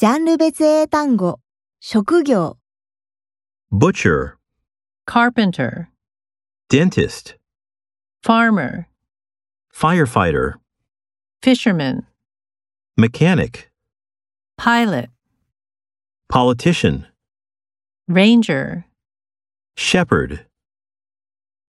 ジャンル別英単語、職業、 butcher, carpenter, dentist, farmer, firefighter, fisherman, mechanic, pilot, politician, ranger, shepherd.